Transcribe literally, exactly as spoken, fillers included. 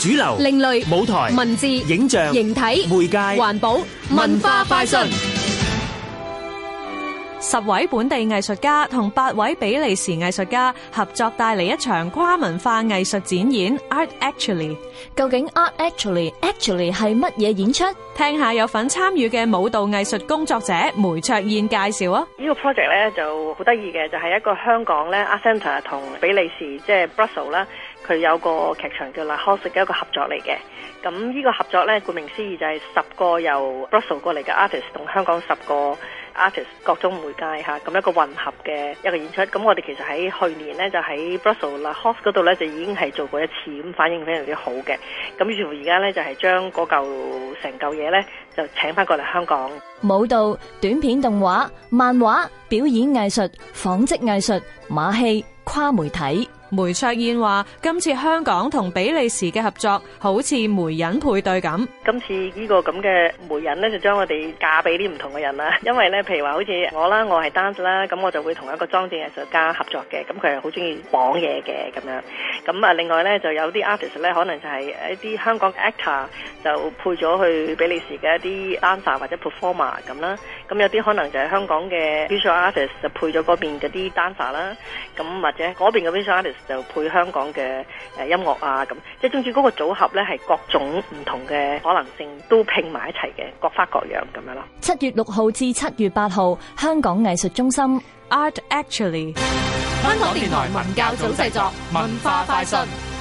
主流、 另類舞台、 文字、 影像、 形體、 媒介、 環保、文化快訊。 十位本地藝術家同八位比利時藝術家合作帶嚟一場跨文化藝術展演 Art Actually。 究竟 Art Actually Actually 係乜嘢演出？ 聽下有份參與嘅舞蹈藝術工作者梅卓燕介紹啊！ 呢個 project 咧就好得意嘅，就係、是、一個香港咧 Art Centre 同比利時即係 Brussels 啦，佢有個劇場叫 La House 嘅一個合作嚟嘅。咁呢個合作咧，顧名思義就係十個由 Brussels 過嚟嘅 artist 同香港十個 artist 各種媒介嚇，咁一個混合嘅一個演出。咁我哋其實喺去年咧就喺 Brussels La House 嗰度咧就已經係做過一次，咁反應非常之好嘅。咁於是乎而家咧就係將嗰嚿成嚿嘢咧就請翻過嚟香港。 舞蹈、短片動畫、漫畫、表演藝術、紡織藝術、馬戲、跨媒體。 梅卓燕話：今次香港同比利時嘅合作好似媒人配對咁。 今次呢個咁嘅媒人咧，就將我哋嫁俾啲唔同嘅人啦。因為咧，譬如話好似我啦，我係 dance 啦，咁我就會同一個裝置藝術家合作嘅。咁佢係好中意綁嘢嘅咁樣。咁啊，另外咧就有啲 artist 咧，可能就係一啲香港 actor 就配咗去比利時嘅一啲 dancer 或者 performer 咁啦。咁有啲可能就係香港嘅 visual artist 就配咗嗰邊嗰啲 dancer 啦。咁或者嗰邊嘅 visual artist就配香港嘅誒音樂啊，咁即係總之嗰個組合咧係各種唔同嘅可能性都拼埋一齊嘅，各花各樣咁樣咯。 七月六號至七月八號，香港藝術中心 Art Actually。 香港電台文教組製作，文化快訊。